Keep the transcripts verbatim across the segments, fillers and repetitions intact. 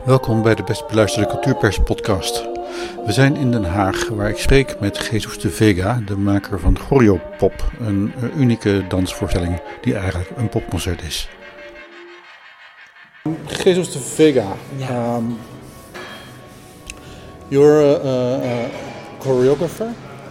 Welkom bij de best beluisterde Cultuurpers podcast. We zijn in Den Haag, waar ik spreek met Jesus de Vega, de maker van Choreopop, een unieke dansvoorstelling die eigenlijk een popconcert is. Jesus de Vega, Yeah. um, you're a, a choreographer,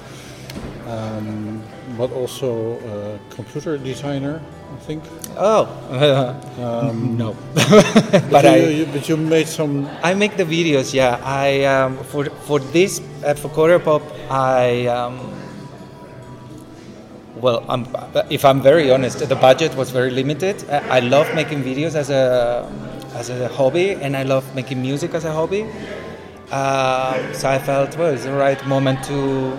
um, but also a computer designer, I think. Oh, uh, Um, no. but, but you, I, you, but you made some. I make the videos. Yeah, I um, for for this uh, for Choreopop, I um, well, I'm, if I'm very honest, the budget was very limited. I, I love making videos as a as a hobby, and I love making music as a hobby. Uh, so I felt well, it's the right moment to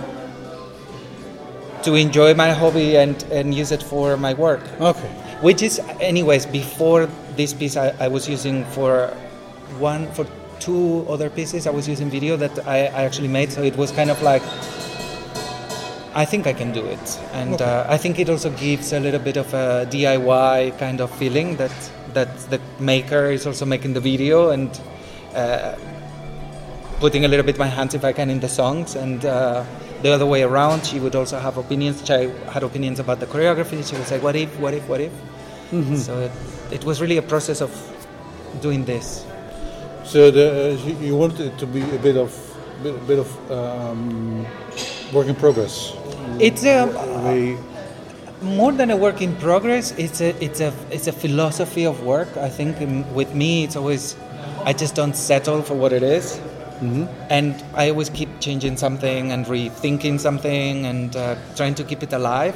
to enjoy my hobby and, and use it for my work. Okay. Which is, anyways, before this piece, I, I was using for one, for two other pieces, I was using video that I, I actually made. So it was kind of like, I think I can do it. And Okay. uh, I think it also gives a little bit of a D I Y kind of feeling that, that the maker is also making the video and uh, putting a little bit my hands, if I can, in the songs. And uh, the other way around, she would also have opinions. She had opinions about the choreography. She would say, what if, what if, what if? Mm-hmm. So it, it was really a process of doing this. So the, uh, you, you wanted it to be a bit of, bit, bit of um, work in progress. It's a, We, more than a work in progress. It's a, it's a, it's a philosophy of work. I think um, with me, it's always, I just don't settle for what it is. mm-hmm. And I always keep changing something and rethinking something and uh, trying to keep it alive.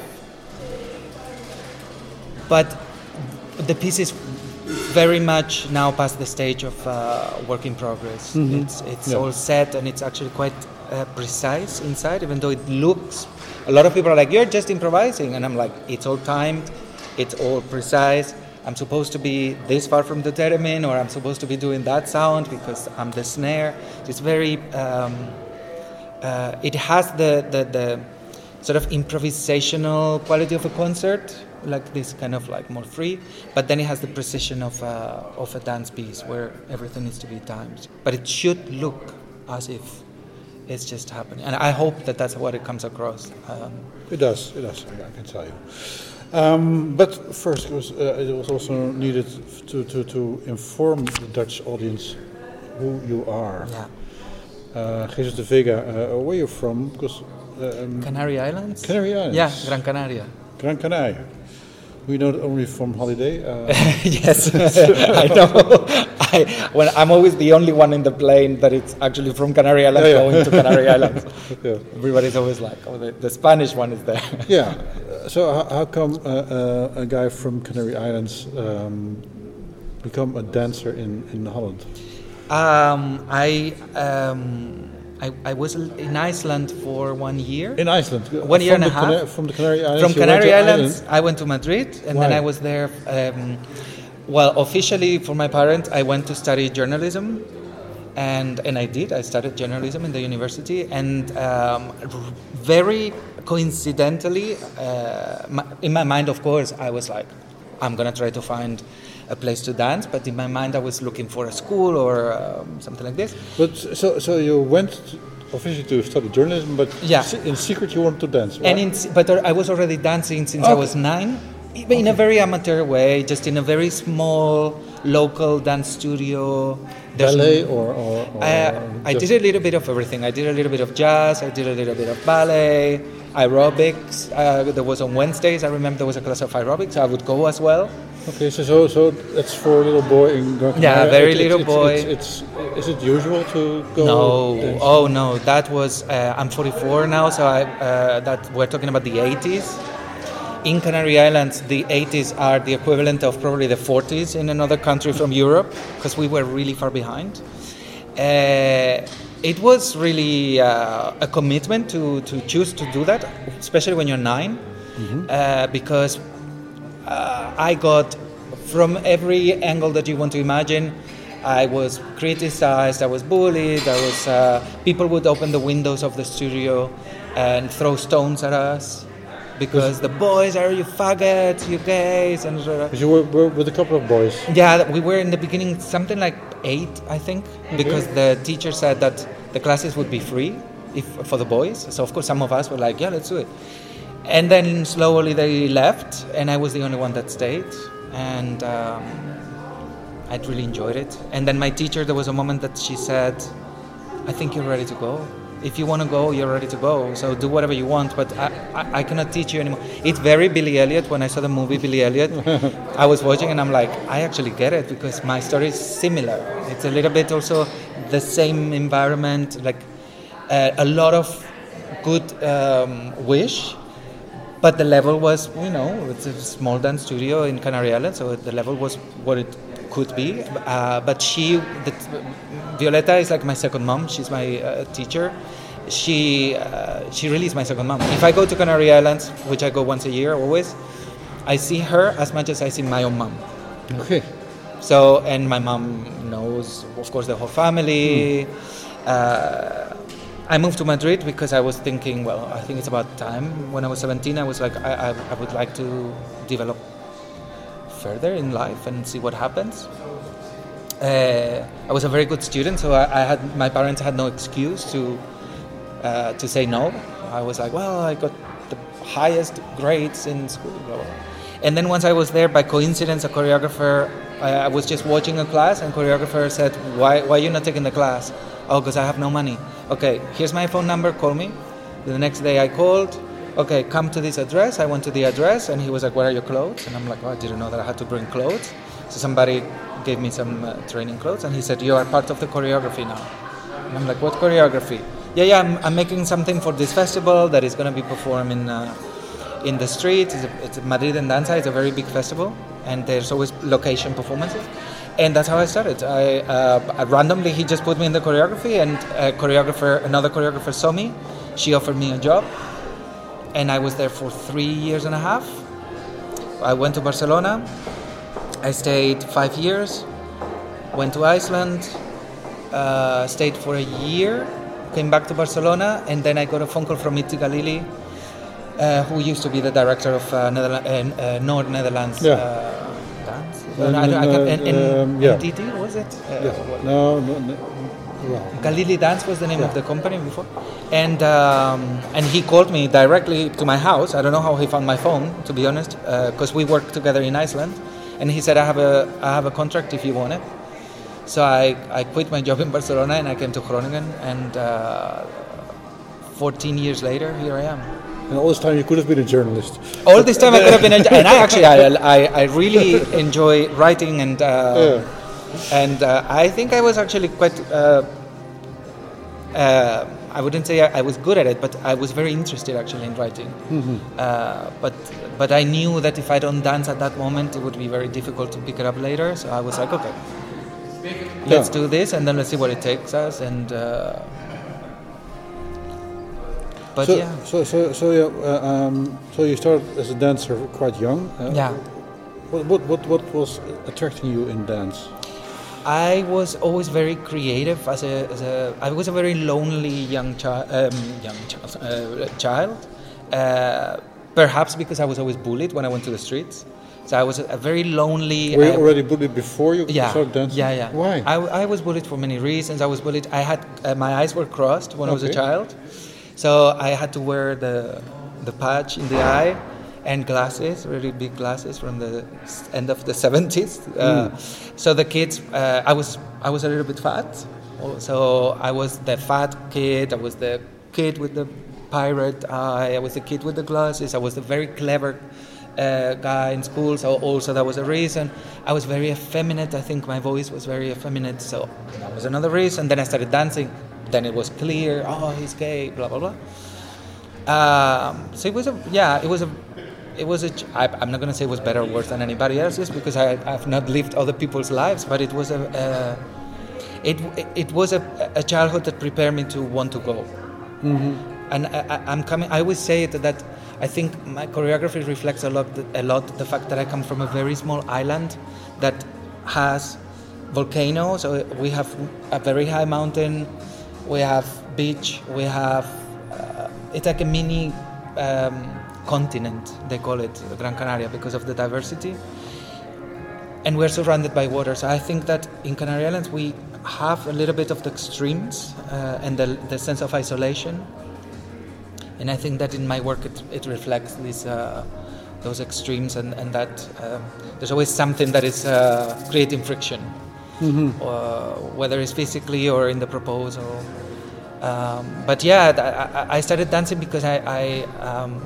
But the piece is very much now past the stage of uh, work in progress. Mhm. It's it's Yeah. all set and it's actually quite uh, precise inside, even though it looks. A lot of people are like, "You're just improvising," and I'm like, "It's all timed, it's all precise. I'm supposed to be this far from the theremin, or I'm supposed to be doing that sound because I'm the snare." It's very. Um, uh, it has the, the the sort of improvisational quality of a concert, like this kind of like more free, but then it has the precision of a, of a dance piece where everything needs to be timed. But it should look as if it's just happening, and I hope that that's what it comes across. Um, It does, it does, I can tell you. Um, but first, it was, uh, it was also needed to, to, to inform the Dutch audience who you are. yeah, Uh, Jesus de Vega, uh, where are you from? Because um, Canary Islands. Canary Islands. Yeah, Gran Canaria. Gran Canaria. We know it only from holiday. Uh, Yes, I know. I, when I'm always the only one in the plane that it's actually from Canary Islands Yeah, yeah. going to Canary Islands. yeah. Everybody's always like, "Oh, the, the Spanish one is there." yeah. Uh, So how, how come uh, uh, a guy from Canary Islands um, become a dancer in, in Holland? Um, I, um, I I was in Iceland for one year. In Iceland. One year From and a the half. Cana- from the Canary Islands. From you went Canary to Islands, Ireland? I went to Madrid, and then Why? I was there. Um, well, officially for my parents, I went to study journalism, and and I did. I studied journalism in the university, and um, r- very coincidentally, uh, my, in my mind, of course, I was like, I'm gonna try to find a place to dance, but in my mind, I was looking for a school or um, something like this. But so so you went to, officially to study journalism, but Yeah. se- in secret you wanted to dance. Why? And in, but I was already dancing since I Okay. was nine, even in a very amateur way, just in a very small local dance studio. There's- ballet or, or, or I, I just- did a little bit of everything. I did a little bit of jazz. I did a little bit of ballet, aerobics. Uh, there was on Wednesdays. I remember there was a class of aerobics. I would go as well. Okay, so so, so that's for a little boy in Gran Yeah, Canaria. very It- little it's, boy. It's, it's, is it usual to go? No, dance? oh no, that was. Uh, I'm forty-four now, so I uh, that we're talking about the eighties. In Canary Islands, the eighties are the equivalent of probably the forties in another country from Europe, because we were really far behind. Uh, it was really uh, a commitment to, to choose to do that, especially when you're nine, Mm-hmm. uh, because uh, I got, from every angle that you want to imagine, I was criticized, I was bullied, I was, uh, people would open the windows of the studio and throw stones at us. because the boys are you faggots, you gays, and uh, Because you were, were with a couple of boys. yeah, we were in the beginning something like eight, I think, because the teacher said that the classes would be free if for the boys. So of course some of us were like, yeah, let's do it. And then slowly they left, and I was the only one that stayed, and um, I'd really enjoyed it. And then my teacher, there was a moment that she said, I think you're ready to go. If you want to go, you're ready to go. So do whatever you want, but I, I, I cannot teach you anymore. It's very Billy Elliot. When I saw the movie Billy Elliot, I was watching and I'm like, I actually get it because my story is similar. It's a little bit also the same environment, like uh, a lot of good um, wish, but the level was, you know, it's a small dance studio in Canary Islands, so the level was what it could be. Uh, but she, the, Violeta is like my second mom. She's my uh, teacher. She uh, she really is my second mom. If I go to Canary Islands, which I go once a year always, I see her as much as I see my own mom. Okay. So, and my mom knows, of course, the whole family. Mm. Uh, I moved to Madrid because I was thinking, well, I think it's about time. When I was seventeen, I was like, I, I, I would like to develop further in life and see what happens. Uh, I was a very good student, so I, I had my parents had no excuse to uh, to say no. I was like, well, I got the highest grades in school, blah, blah. And then once I was there, by coincidence, a choreographer, I, I was just watching a class, and choreographer said, why why are you not taking the class? Oh, because I have no money. Okay, here's my phone number, call me. The next day I called. Okay, come to this address. I went to the address, and he was like, where are your clothes? And I'm like, oh, I didn't know that I had to bring clothes. So somebody gave me some uh, training clothes, and he said, you are part of the choreography now. And I'm like, what choreography? Yeah, yeah, I'm, I'm making something for this festival that is going to be performed in, uh, in the street. It's, a, it's Madrid and Danza. It's a very big festival, and there's always location performances. And that's how I started. I, uh, randomly, he just put me in the choreography, and a choreographer, another choreographer saw me. She offered me a job, and I was there for three years and a half. I went to Barcelona. I stayed five years, went to Iceland, uh, stayed for a year, came back to Barcelona, and then I got a phone call from Mitzi Galili, uh, who used to be the director of uh, Netherla- uh, uh, North Netherlands yeah. uh, Dance. Um, I don't, I can't, and, and, um, yeah. N T T, was it? Uh, yeah. No, no, no. Well, Galili Dance was the name yeah. of the company before, and um, and he called me directly to my house. I don't know how he found my phone, to be honest, because uh, we worked together in Iceland. And he said, I have a I have a contract if you want it. So I, I quit my job in Barcelona and I came to Groningen, and uh, fourteen years later, here I am. And all this time you could have been a journalist. All this time I could have been a and I actually, I, I, I really enjoy writing, and uh, yeah. and uh, I think I was actually quite, uh, uh, I wouldn't say I, I was good at it, but I was very interested actually in writing. Mm-hmm. Uh, but But I knew that if I don't dance at that moment, it would be very difficult to pick it up later. So I was like, okay, let's yeah. do this, and then let's see what it takes us. And uh, but so, yeah. So so so yeah, uh, um, so you started as a dancer quite young. Uh, yeah. What, what what what was attracting you in dance? I was always very creative. As a, as a I was a very lonely young child. Um, young child. Uh, child. Uh, Perhaps because I was always bullied when I went to the streets. So I was a, a very lonely... Were you uh, already bullied before you yeah, started dancing? Yeah, yeah. Why? I, I was bullied for many reasons. I was bullied... I had... Uh, my eyes were crossed when okay. I was a child. So I had to wear the the patch in the eye and glasses, really big glasses from the end of the seventies. Uh, mm. So the kids... Uh, I was I was a little bit fat. So I was the fat kid. I was the kid with the... pirate eye. I was the kid with the glasses. I was the very clever uh, guy in school, so also that was a reason. I was very effeminate. I think my voice was very effeminate, so that was another reason. Then I started dancing. Then it was clear, oh, he's gay, blah blah blah. Um, so it was a yeah, it was a it was a. I, I'm not gonna say it was better or worse than anybody else's because I, I've not lived other people's lives, but it was a. a it it was a, a childhood that prepared me to want to go. Mm-hmm. And I, I'm coming. I always say that, that I think my choreography reflects a lot, a lot the fact that I come from a very small island that has volcanoes. So we have a very high mountain, we have beach, we have. Uh, it's like a mini um, continent. They call it Gran Canaria because of the diversity. And we're surrounded by water. So I think that in Canary Islands we have a little bit of the extremes uh, and the, the sense of isolation. And I think that in my work it, it reflects these uh, those extremes, and, and that uh, there's always something that is uh, creating friction, mm-hmm. uh, whether it's physically or in the proposal. Um, but yeah, I, I started dancing because I I, um,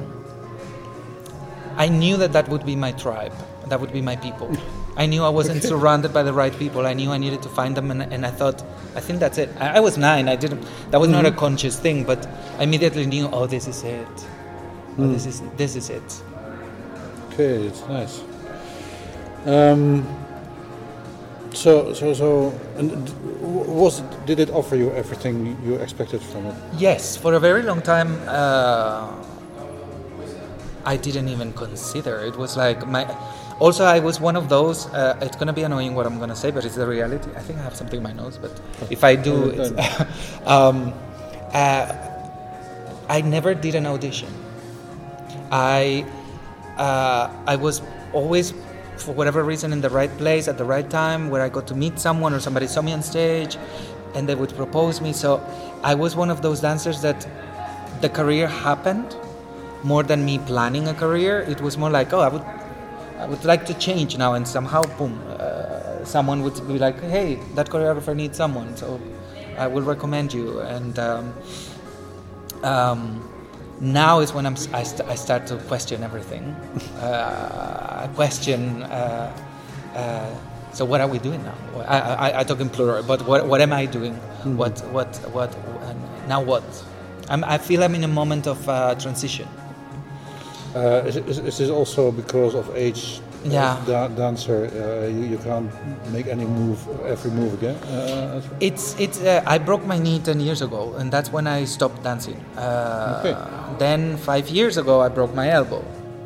I knew that that would be my tribe, that would be my people. I knew I wasn't okay. surrounded by the right people. I knew I needed to find them, and, and I thought, I think that's it. I, I was nine. I didn't. That was mm-hmm. not a conscious thing, but I immediately knew, oh, this is it. Oh, mm. this is this is it. Okay, it's nice. Um, so so so, and was did it offer you everything you expected from it? Yes, for a very long time. Uh, I didn't even consider. It was like my. Also, I was one of those, uh, it's going to be annoying what I'm going to say, but it's the reality. I think I have something in my nose, but if I do, it's, um, uh, I never did an audition. I, uh, I was always, for whatever reason, in the right place at the right time, where I got to meet someone or somebody saw me on stage and they would propose me. So I was one of those dancers that the career happened more than me planning a career. It was more like, oh, I would... I would like to change now, and somehow, boom, uh, someone would be like, hey, that choreographer needs someone, so I will recommend you. And um, um, now is when I'm, I, st- I start to question everything. uh, I question, uh, uh, so what are we doing now? I, I, I talk in plural, but what, what am I doing? Mm-hmm. What, what, what, and now what? I'm, I feel I'm in a moment of uh, transition. Uh, is, is, is this also because of age? Yeah. As da- dancer, uh, you, you can't make any move, every move again. Uh, it's it's. Uh, I broke my knee ten years ago, and that's when I stopped dancing. Uh, okay. Then five years ago, I broke my elbow.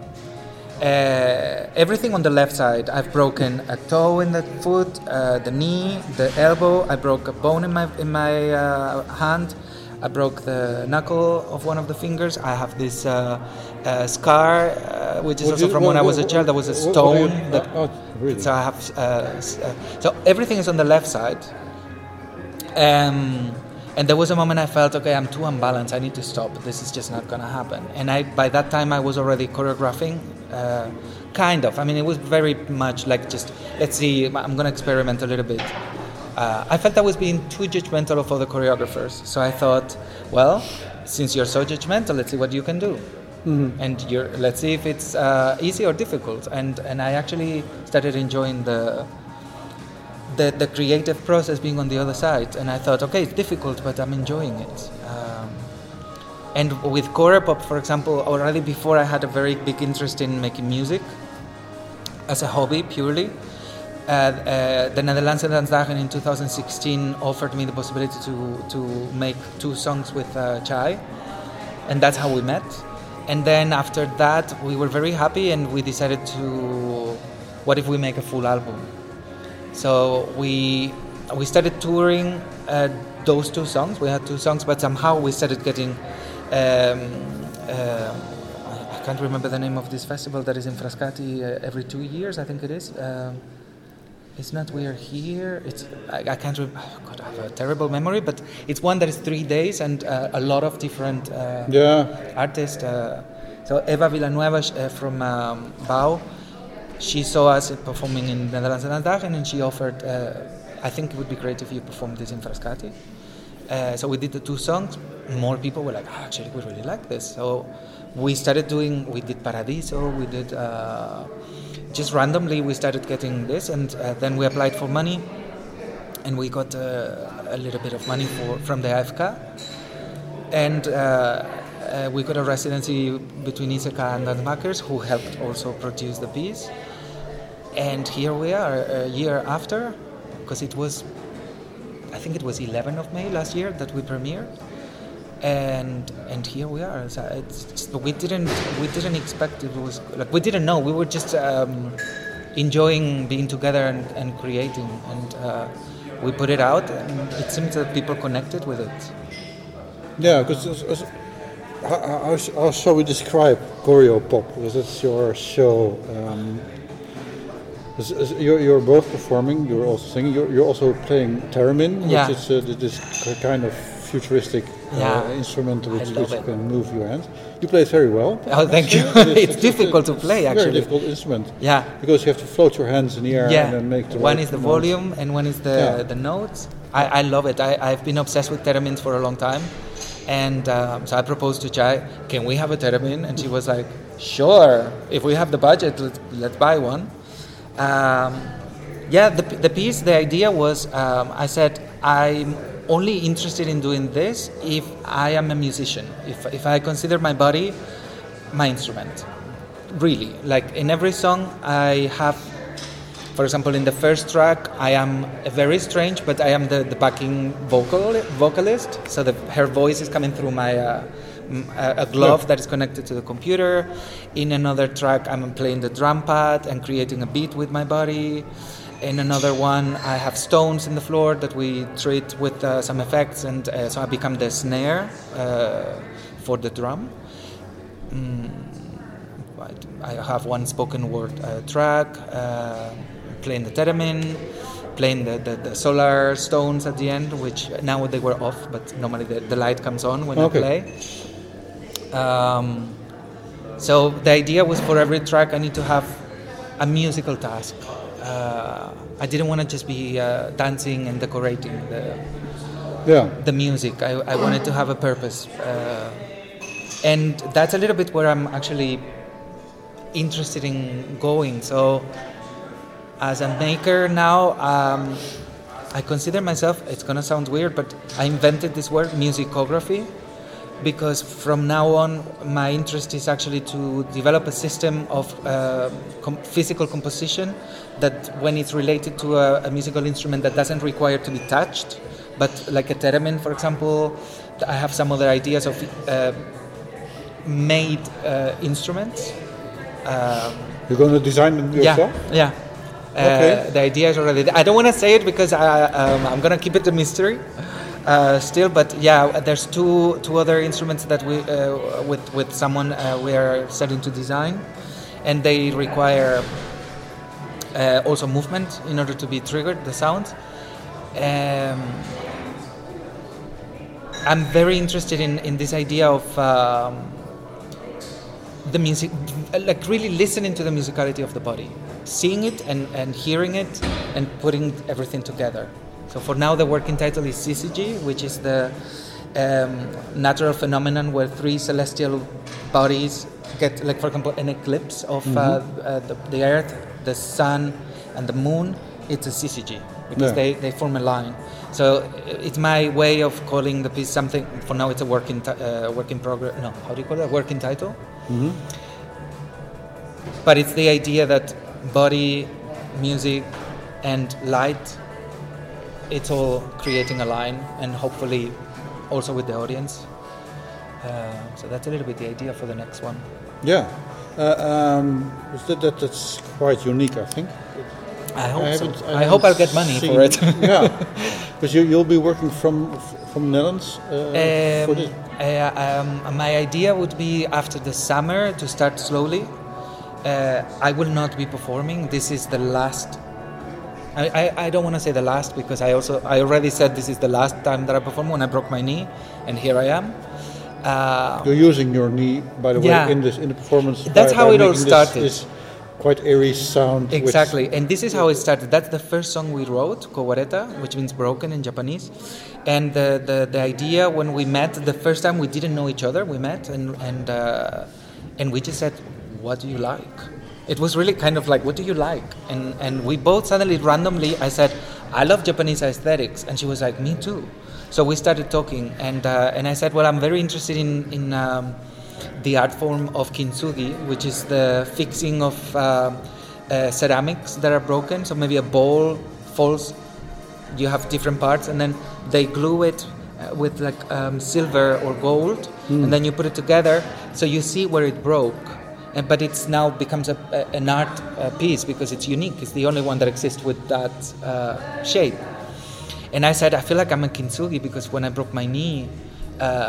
Uh, everything on the left side. I've broken a toe in the foot, uh, the knee, the elbow. I broke a bone in my in my uh, hand. I broke the knuckle of one of the fingers. I have this uh, uh, scar, uh, which is what also from what, when I was a child. There was a stone. What, what that, oh, really? So I have. Uh, uh, so everything is on the left side. Um, and there was a moment I felt, okay, I'm too unbalanced. I need to stop. This is just not gonna happen. And I, by that time, I was already choreographing, uh, kind of. I mean, it was very much like just, let's see. I'm gonna experiment a little bit. Uh, I felt I was being too judgmental of other choreographers, so I thought, well, since you're so judgmental, let's see what you can do, mm-hmm. and you're, let's see if it's uh, easy or difficult. And and I actually started enjoying the, the the creative process being on the other side, and I thought, okay, it's difficult, but I'm enjoying it. Um, and with Choreopop, for example, already before I had a very big interest in making music as a hobby purely. Uh, uh, the Nederlandse Dansdagen in two thousand sixteen offered me the possibility to to make two songs with uh, Chai, and that's how we met. And then after that, we were very happy, and we decided to, what if we make a full album? So we we started touring uh, those two songs. We had two songs, but somehow we started getting. Um, uh, I can't remember the name of this festival that is in Frascati uh, every two years. I think it is. Um, It's not We Are Here. It's I, I can't remember. Oh God, I have a terrible memory. But it's one that is three days and uh, a lot of different uh, yeah. artists. Uh, so Eva Villanueva uh, from um, Bau, she saw us performing in the Nederlandse Dansdagen, and she offered. Uh, I think it would be great if you performed this in Frascati. Uh, so we did the two songs. More people were like, oh, actually, we really like this. So we started doing. We did Paradiso. We did. Uh, Just randomly, we started getting this, and uh, then we applied for money, and we got uh, a little bit of money for, from the A F K, and uh, uh, we got a residency between Iseka and Dansmakers, who helped also produce the piece. And here we are, a year after, because it was, I think it was eleventh of May last year that we premiered. And and here we are. So it's just, we didn't we didn't expect it was like we didn't know. We were just um, enjoying being together and, and creating, and uh, we put it out, and it seems that people connected with it. Yeah, because how, how, how shall we describe Choreo Pop? Because it's your show. Um, is, is, you're, you're both performing. You're also singing. You're, you're also playing theremin, yeah. which is uh, this kind of futuristic yeah. uh, instrument which, which you it. can move your hands. You play it very well. Oh, thank you. It is, it's, it's difficult it's to play, actually. Very difficult instrument. Yeah. Because you have to float your hands in the air yeah. and then make the one right is the notes. volume and one is the yeah. the notes. I, I love it. I, I've been obsessed with theremins for a long time, and um, so I proposed to Chai, can we have a theremin? And she was like, sure. If we have the budget, let's, let's buy one. Um, yeah, the the piece, the idea was, um, I said I'm only interested in doing this if I am a musician. If if I consider my body my instrument, really. Like in every song, I have. For example, in the first track, I am very strange, but I am the, the backing vocal vocalist. So the, her voice is coming through my uh, a glove yeah. that is connected to the computer. In another track, I'm playing the drum pad and creating a beat with my body. In another one, I have stones in the floor that we treat with uh, some effects, and uh, so I become the snare uh, for the drum. Mm, I have one spoken word uh, track. Uh, playing the theremin, playing the, the, the solar stones at the end, which now they were off, but normally the, the light comes on when okay. I play. Um, so the idea was for every track I need to have a musical task. Uh, I didn't want to just be uh, dancing and decorating the, yeah. the music. I, I wanted to have a purpose. Uh, and that's a little bit where I'm actually interested in going. So as a maker now, um, I consider myself, it's going to sound weird, but I invented this word, musicography, because from now on, my interest is actually to develop a system of uh, com- physical composition that when it's related to a, a musical instrument that doesn't require to be touched, but like a theremin, for example, I have some other ideas of uh, made uh, instruments. Um, You're going to design them yourself? Yeah, yeah. Okay. Uh, the idea is already there. I don't want to say it because I, um, I'm going to keep it a mystery uh, still. But yeah, there's two two other instruments that we uh, with with someone uh, we are starting to design, and they require uh, also movement in order to be triggered. The sound. Um, I'm very interested in, in this idea of um, the music, like really listening to the musicality of the body, seeing it and, and hearing it and putting everything together. So for now the working title is Syzygy, which is the um, natural phenomenon where three celestial bodies get, like for example, an eclipse of mm-hmm. uh, uh, the, the Earth, the Sun and the Moon. It's a Syzygy because yeah. they, they form a line. So it's my way of calling the piece something. For now, it's a work in t- uh, work in progress. No, how do you call it? A working title. Mm-hmm. But it's the idea that body, music, and light, it's all creating a line, and hopefully also with the audience. Uh, so that's a little bit the idea for the next one. Yeah, uh, um, that, that that's quite unique, I think. I hope I so. I, I hope I'll get money seen, for it. Yeah, because you, you'll be working from from Netherlands uh, um, for this. Uh, um, my idea would be after the summer to start slowly. Uh, I will not be performing. This is the last. I, I, I don't want to say the last because I also I already said this is the last time that I perform when I broke my knee, and here I am. Uh, You're using your knee, by the yeah. way, in this in the performance. That's by, how by it all this, started. This quite airy sound. Exactly, and this is how it started. That's the first song we wrote, Kowareta, which means broken in Japanese. And the, the, the idea when we met, the first time we didn't know each other, we met, and and uh, and we just said, what do you like? It was really kind of like, what do you like? And and we both suddenly, randomly, I said, I love Japanese aesthetics, and she was like, me too. So we started talking, and uh, and I said, well, I'm very interested in, in um, the art form of kintsugi, which is the fixing of uh, uh, ceramics that are broken. So maybe a bowl falls, you have different parts, and then they glue it uh, with like um, silver or gold, mm. and then you put it together, so you see where it broke. And, but it's now becomes a, a, an art uh, piece because it's unique. It's the only one that exists with that uh, shape. And I said, I feel like I'm a kintsugi because when I broke my knee, uh,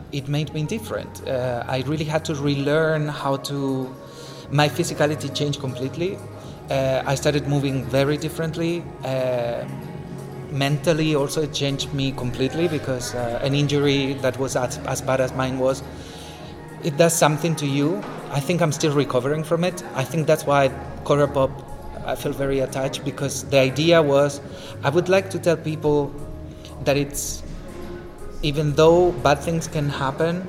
it made me different. Uh, I really had to relearn how to. My physicality changed completely. Uh, I started moving very differently. Uh, mentally, also, it changed me completely because uh, an injury that was as, as bad as mine was, it does something to you. I think I'm still recovering from it. I think that's why Choreo Pop, I feel very attached, because the idea was, I would like to tell people that it's, even though bad things can happen,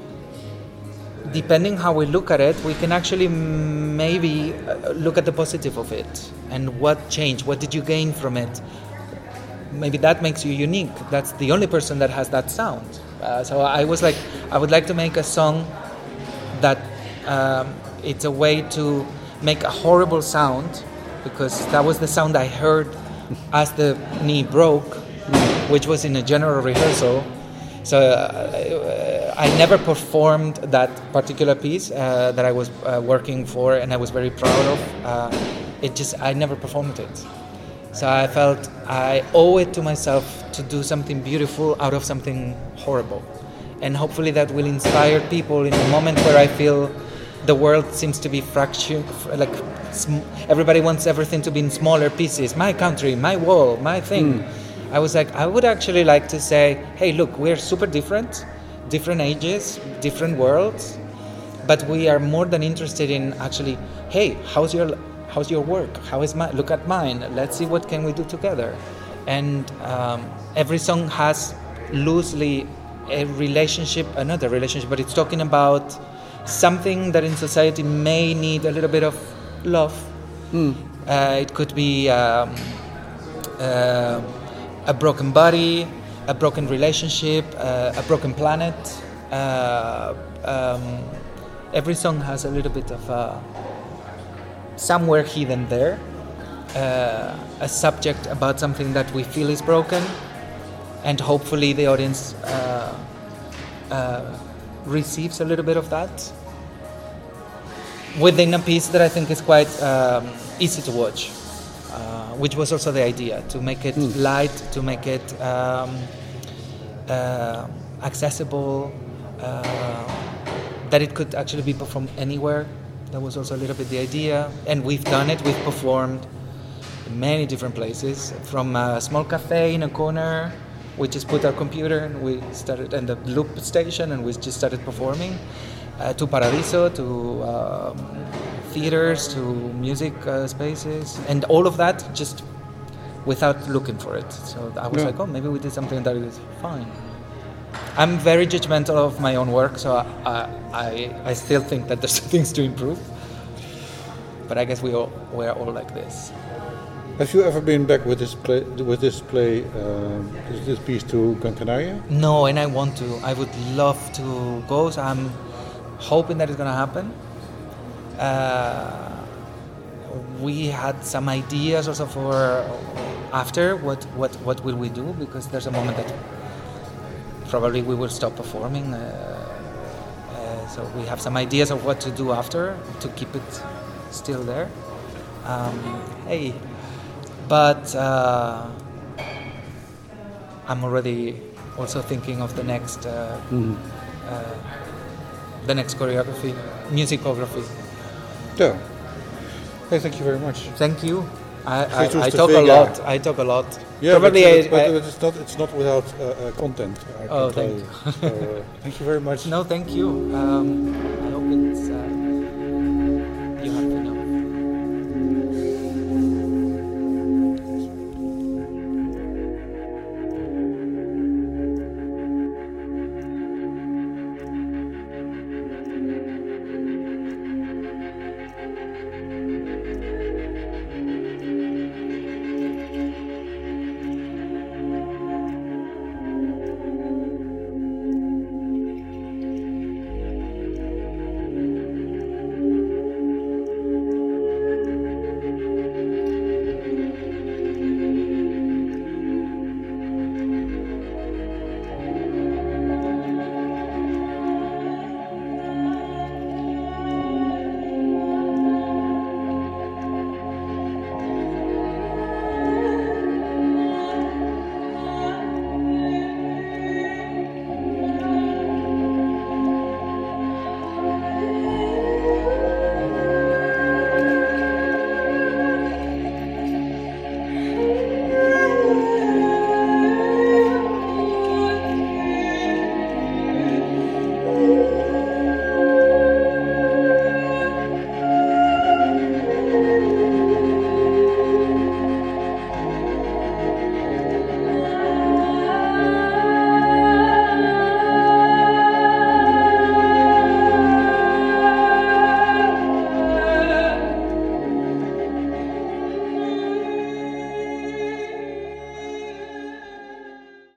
depending how we look at it, we can actually maybe look at the positive of it and what changed, what did you gain from it. Maybe that makes you unique. That's the only person that has that sound. Uh, so I was like, I would like to make a song that um, it's a way to make a horrible sound, because that was the sound I heard as the knee broke, which was in a general rehearsal. So uh, I never performed that particular piece uh, that I was uh, working for and I was very proud of. Uh, it just, I never performed it. So I felt I owe it to myself to do something beautiful out of something horrible. And hopefully that will inspire people in a moment where I feel the world seems to be fractured, like sm- everybody wants everything to be in smaller pieces. My country, my wall, my thing. Mm. I was like, I would actually like to say, hey, look, we're super different, different ages, different worlds, but we are more than interested in actually, hey, how's your how's your work? How is my, look at mine. Let's see what can we do together. And um, every song has loosely a relationship, another relationship, but it's talking about something that in society may need a little bit of love. Mm. Uh, it could be um, uh, a broken body, a broken relationship, uh, a broken planet. Uh, um, every song has a little bit of uh, somewhere hidden there, uh, a subject about something that we feel is broken, and hopefully the audience uh, uh, receives a little bit of that within a piece that I think is quite um, easy to watch. Uh, which was also the idea, to make it mm. light, to make it um, uh, accessible, uh, that it could actually be performed anywhere. That was also a little bit the idea. And we've done it, we've performed in many different places, from a small cafe in a corner. We just put our computer and we started, and the loop station, and we just started performing, uh, to Paradiso, to um, theaters, to music uh, spaces, and all of that just without looking for it. So I was yeah. like, oh, maybe we did something that is fine. I'm very judgmental of my own work, so I I, I still think that there's things to improve. But I guess we all we're all like this. Have you ever been back with this play, with this play, um, this, this piece to Gran Canaria? No, and I want to. I would love to go. So I'm hoping that it's gonna happen. Uh, we had some ideas also for after what, what what will we do, because there's a moment that probably we will stop performing, uh, uh, so we have some ideas of what to do after to keep it still there. Um, hey, but uh, I'm already also thinking of the next uh, mm. uh, the next choreography, musicography. Yeah. Hey, thank you very much. Thank you. I, I, I talk a lot. I talk a lot. Yeah, Probably but, but, I, but it's not. It's not without uh, uh, content. I oh, can thank tell you. So, uh, thank you very much. No, thank you. Um,